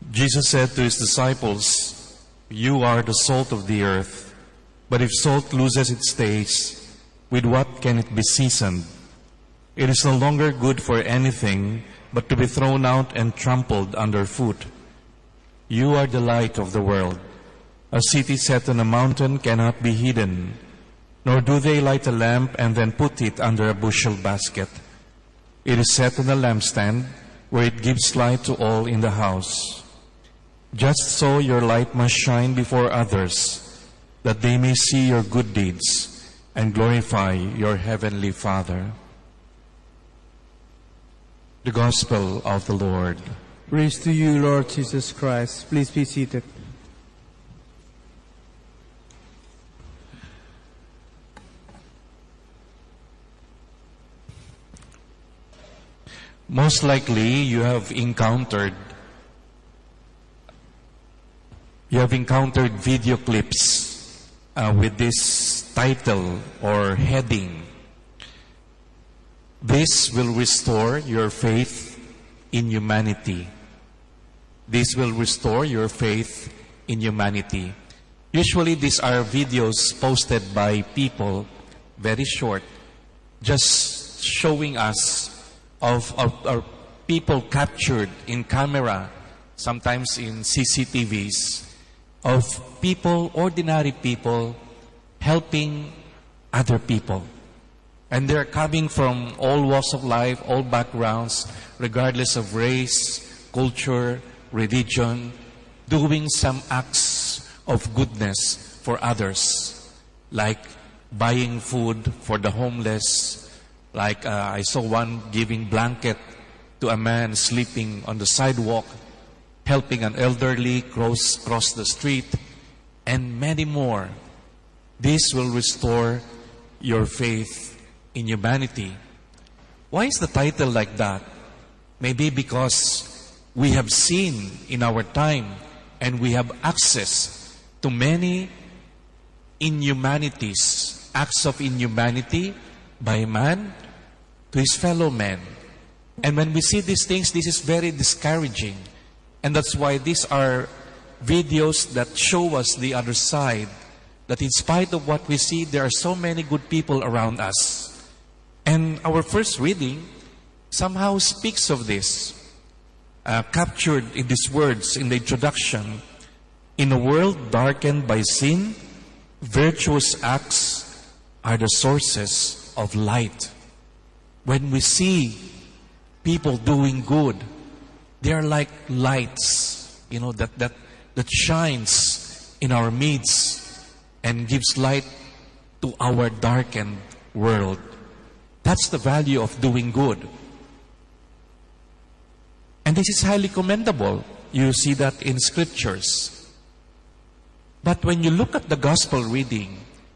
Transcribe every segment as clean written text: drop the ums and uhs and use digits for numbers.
Jesus said to his disciples, "You are the salt of the earth, but if salt loses its taste, with what can it be seasoned? It is no longer good for anything but to be thrown out and trampled underfoot. You are the light of the world. A city set on a mountain cannot be hidden, nor do they light a lamp and then put it under a bushel basket. It is set on a lampstand, where it gives light to all in the house. Just so your light must shine before others, that they may see your good deeds and glorify your heavenly Father." The Gospel of the Lord. Praise to you, Lord Jesus Christ. Please be seated. Most likely you have encountered video clips with this title or heading: "This will restore your faith in humanity." This will restore your faith in humanity. Usually these are videos posted by people, very short, just showing us of people captured in camera, sometimes in CCTVs, of people, ordinary people, helping other people. And they're coming from all walks of life, all backgrounds, regardless of race, culture, religion, doing some acts of goodness for others, like buying food for the homeless. Like I saw one giving blanket to a man sleeping on the sidewalk, helping an elderly cross the street, and many more. This will restore your faith in humanity. Why is the title like that? Maybe because we have seen in our time and we have access to many inhumanities, acts of inhumanity by man to his fellow man. And when we see these things, this is very discouraging. And that's why these are videos that show us the other side, that in spite of what we see, there are so many good people around us. And our first reading somehow speaks of this, captured in these words in the introduction: "In a world darkened by sin, virtuous acts are the sources of light." When we see people doing good, they are like lights, that shines in our midst and gives light to our darkened world. That's the value of doing good. And this is highly commendable. You see that in scriptures. But when you look at the gospel reading,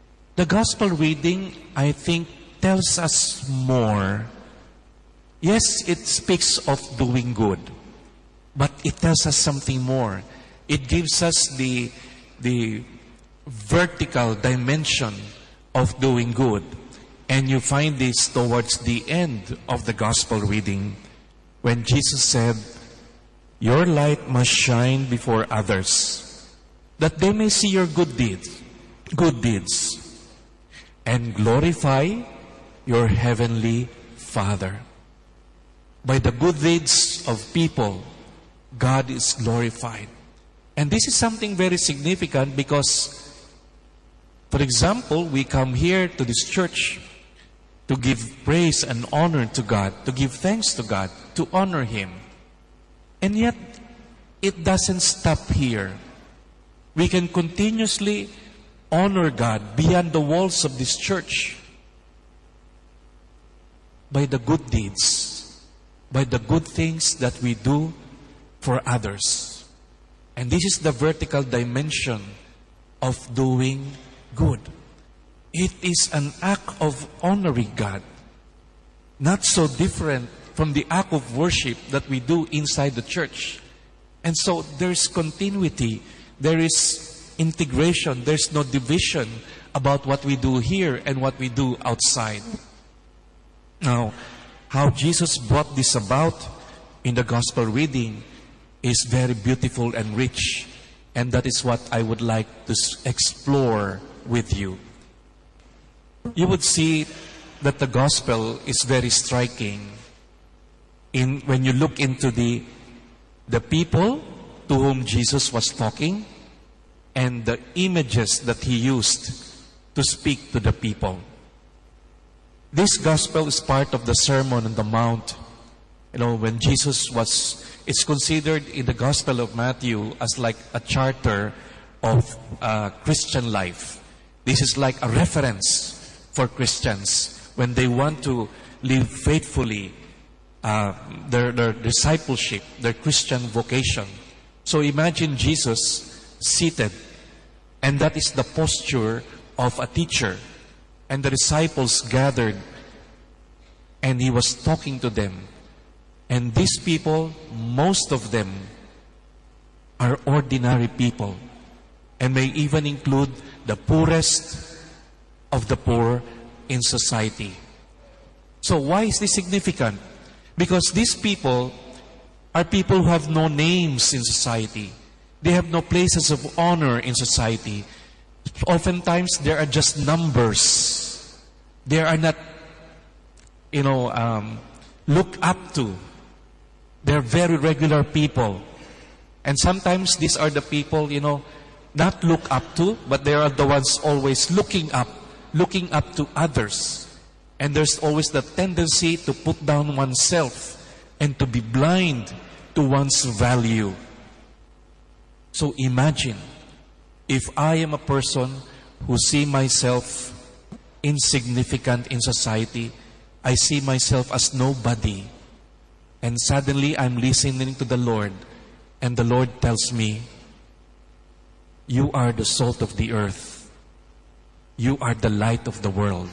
I think, tells us more. Yes, it speaks of doing good, but it tells us something more. It gives us the vertical dimension of doing good. And you find this towards the end of the gospel reading, when Jesus said, "Your light must shine before others, that they may see your good deeds, and glorify your heavenly Father." By the good deeds of people, God is glorified. And this is something very significant because, for example, we come here to this church to give praise and honor to God, to give thanks to God, to honor Him. And yet, it doesn't stop here. We can continuously honor God beyond the walls of this church by the good deeds, by the good things that we do for others. And this is the vertical dimension of doing good. It is an act of honoring God, not so different from the act of worship that we do inside the church. And so there's continuity, there is integration, there's no division about what we do here and what we do outside. Now, how Jesus brought this about in the gospel reading is very beautiful and rich. And that is what I would like to explore with you. You would see that the gospel is very striking when you look into the people to whom Jesus was talking and the images that he used to speak to the people. This gospel is part of the Sermon on the Mount. You know, when Jesus it's considered in the Gospel of Matthew as like a charter of Christian life. This is like a reference for Christians when they want to live faithfully their discipleship, their Christian vocation. So imagine Jesus seated, and that is the posture of a teacher. And the disciples gathered, and he was talking to them. And these people, most of them, are ordinary people, and may even include the poorest of the poor in society. So why is this significant? Because these people are people who have no names in society. They have no places of honor in society. Oftentimes, there are just numbers. They are not, looked up to. They're very regular people. And sometimes these are the people, not look up to, but they are the ones always looking up to others. And there's always the tendency to put down oneself and to be blind to one's value. So imagine, if I am a person who see myself insignificant in society, I see myself as nobody, and suddenly I'm listening to the Lord, and the Lord tells me, you are the salt of the earth. You are the light of the world.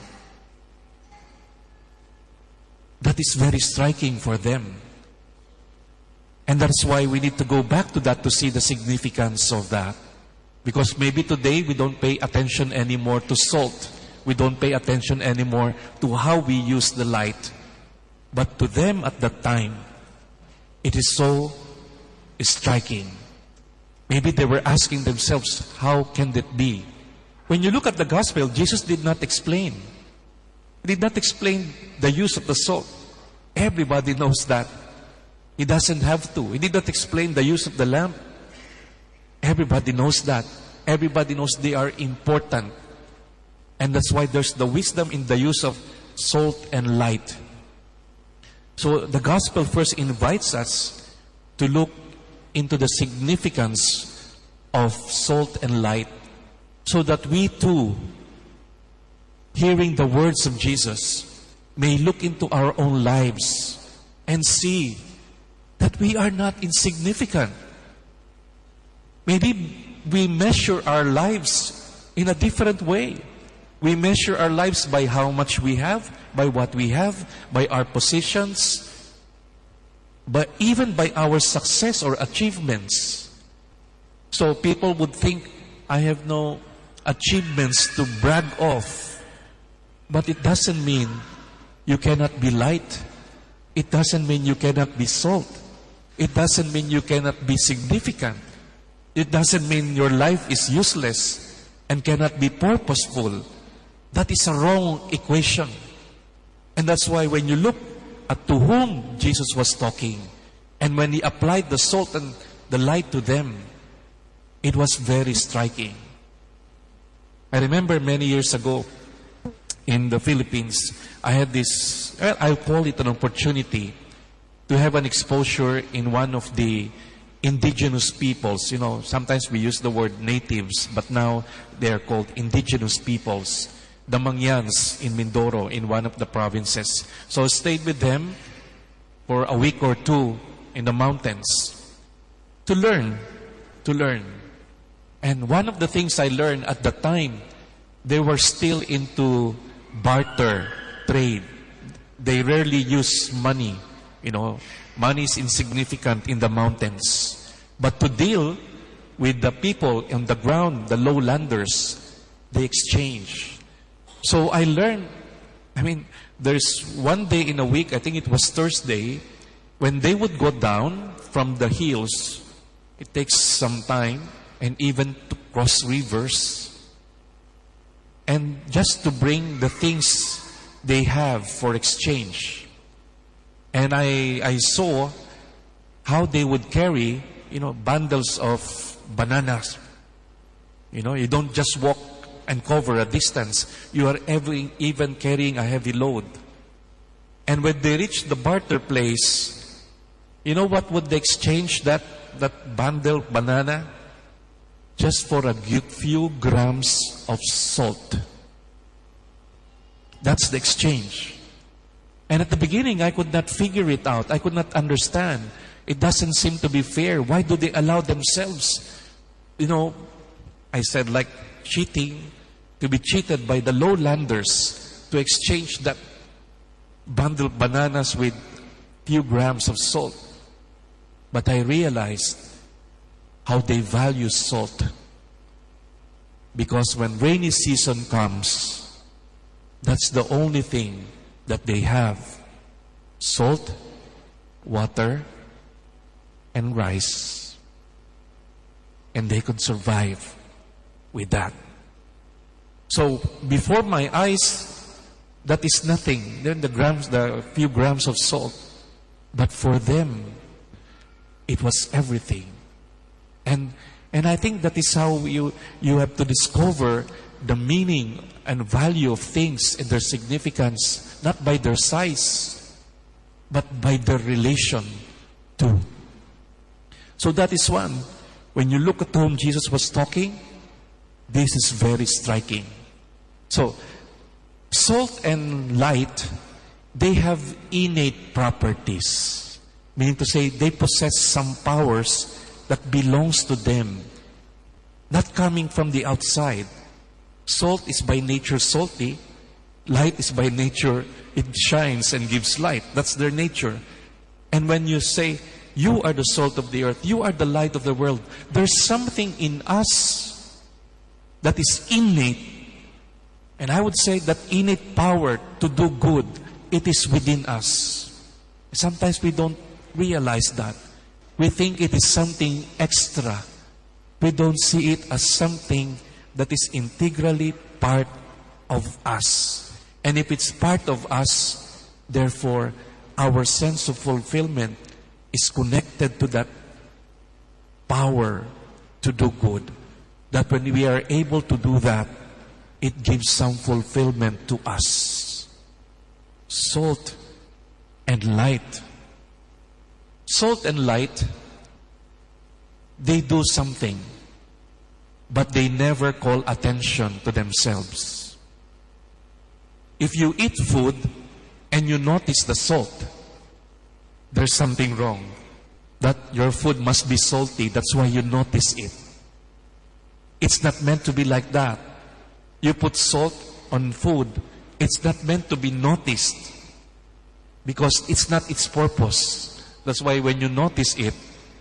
That is very striking for them. And that's why we need to go back to that to see the significance of that. Because maybe today we don't pay attention anymore to salt. We don't pay attention anymore to how we use the light. But to them at that time, it is so striking. Maybe they were asking themselves, how can that be? When you look at the gospel, Jesus did not explain. He did not explain the use of the salt. Everybody knows that. He doesn't have to. He did not explain the use of the lamp. Everybody knows that. Everybody knows they are important. And that's why there's the wisdom in the use of salt and light. So the gospel first invites us to look into the significance of salt and light, so that we too, hearing the words of Jesus, may look into our own lives and see that we are not insignificant. Maybe we measure our lives in a different way. We measure our lives by how much we have, by what we have, by our positions, but even by our success or achievements. So people would think, I have no achievements to brag of. But it doesn't mean you cannot be light. It doesn't mean you cannot be salt. It doesn't mean you cannot be significant. It doesn't mean your life is useless and cannot be purposeful. That is a wrong equation. And that's why when you look at to whom Jesus was talking, and when he applied the salt and the light to them, it was very striking. I remember many years ago in the Philippines, I had this, I'll call it an opportunity to have an exposure in one of the indigenous peoples. Sometimes we use the word natives, but now they are called indigenous peoples. The Mangyans in Mindoro, in one of the provinces. So I stayed with them for a week or two in the mountains to learn. And one of the things I learned at the time, they were still into barter trade. They rarely use money. Money is insignificant in the mountains. But to deal with the people on the ground, the lowlanders, they exchange. So I learned, there's one day in a week, I think it was Thursday, when they would go down from the hills It takes some time, and even to cross rivers, and just to bring the things they have for exchange. And I saw how they would carry, bundles of bananas. You don't just walk and cover a distance. You are even carrying a heavy load. And when they reach the barter place, you know what would they exchange that bundle of banana? Just for a few grams of salt. That's the exchange. And at the beginning, I could not figure it out. I could not understand. It doesn't seem to be fair. Why do they allow themselves, I said, like cheating, to be cheated by the lowlanders to exchange that bundle of bananas with few grams of salt. But I realized how they value salt. Because when rainy season comes, that's the only thing that they have. Salt, water, and rice. And they could survive with that. So before my eyes, that is nothing. Then the few grams of salt. But for them, it was everything. And I think that is how you have to discover the meaning and value of things and their significance, not by their size, but by their relation to. So that is one. When you look at whom Jesus was talking, this is very striking. So, salt and light, they have innate properties. Meaning to say, they possess some powers that belongs to them, not coming from the outside. Salt is by nature salty. Light is by nature, it shines and gives light. That's their nature. And when you say, you are the salt of the earth, you are the light of the world, there's something in us that is innate. And I would say that innate power to do good, it is within us. Sometimes we don't realize that. We think it is something extra. We don't see it as something that is integrally part of us. And if it's part of us, therefore, our sense of fulfillment is connected to that power to do good. That when we are able to do that, it gives some fulfillment to us. Salt and light. Salt and light, they do something, but they never call attention to themselves. If you eat food and you notice the salt, there's something wrong. That your food must be salty, that's why you notice it. It's not meant to be like that. You put salt on food, it's not meant to be noticed because it's not its purpose. That's why when you notice it,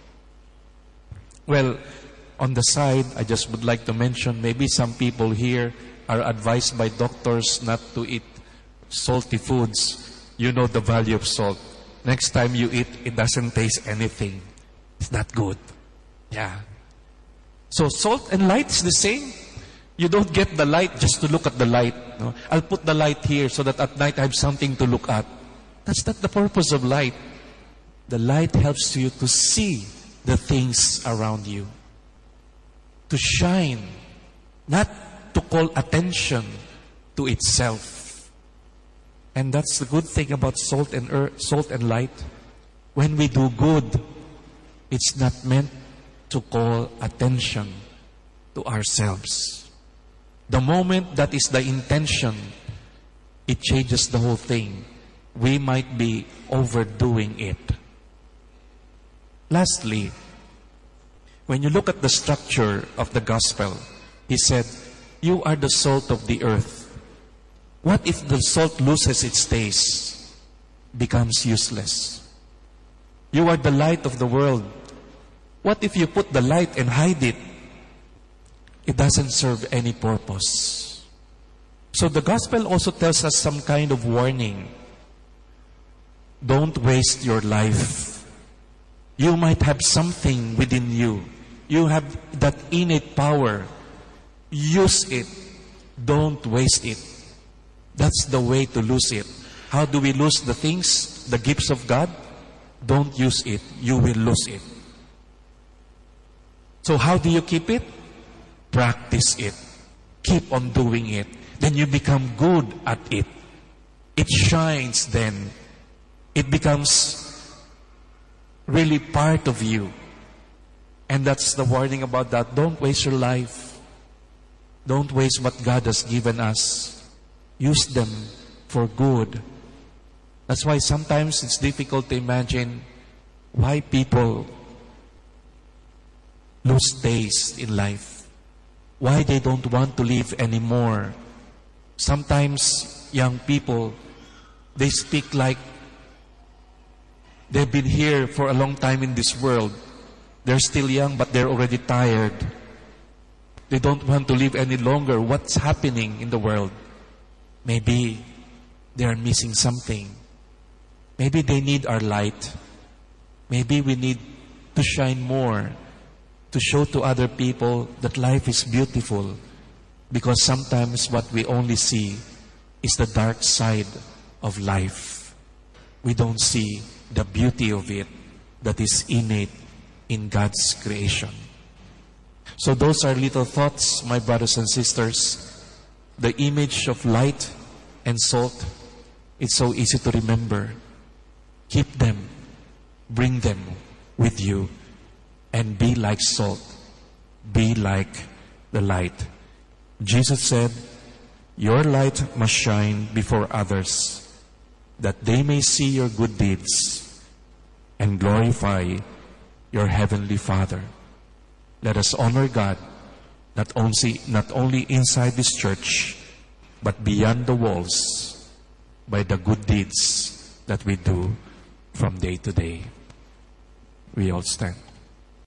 well, on the side, I just would like to mention, maybe some people here are advised by doctors not to eat salty foods. You know the value of salt. Next time you eat, it doesn't taste anything. It's not good. Yeah. So salt and light is the same. You don't get the light just to look at the light. No? I'll put the light here so that at night I have something to look at. That's not the purpose of light. The light helps you to see the things around you. To shine. Not to call attention to itself. And that's the good thing about salt and light. When we do good, it's not meant to call attention to ourselves. The moment that is the intention, it changes the whole thing. We might be overdoing it. Lastly, when you look at the structure of the gospel, he said, you are the salt of the earth. What if the salt loses its taste, becomes useless? You are the light of the world. What if you put the light and hide it? It doesn't serve any purpose. So the gospel also tells us some kind of warning. Don't waste your life. You might have something within you. You have that innate power. Use it. Don't waste it. That's the way to lose it. How do we lose the things, the gifts of God? Don't use it. You will lose it. So how do you keep it? Practice it. Keep on doing it. Then you become good at it. It shines then. It becomes really part of you. And that's the warning about that. Don't waste your life. Don't waste what God has given us. Use them for good. That's why sometimes it's difficult to imagine why people lose taste in life. Why they don't want to live anymore. Sometimes young people, they speak like they've been here for a long time in this world. They're still young, but they're already tired. They don't want to live any longer. What's happening in the world? Maybe they are missing something. Maybe they need our light. Maybe we need to shine more, to show to other people that life is beautiful. Because sometimes what we only see is the dark side of life. We don't see the beauty of it that is innate in God's creation. So those are little thoughts, my brothers and sisters. The image of light and salt, it's so easy to remember. Keep them, bring them with you, and be like salt. Be like the light. Jesus said, your light must shine before others, that they may see your good deeds and glorify your heavenly Father. Let us honor God, not only inside this church, but beyond the walls, by the good deeds that we do from day to day. We all stand.